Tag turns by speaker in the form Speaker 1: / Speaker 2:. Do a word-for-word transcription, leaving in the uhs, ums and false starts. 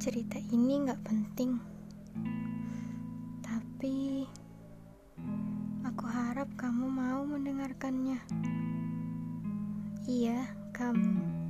Speaker 1: Cerita ini gak penting, tapi aku harap kamu mau mendengarkannya. Iya, kamu.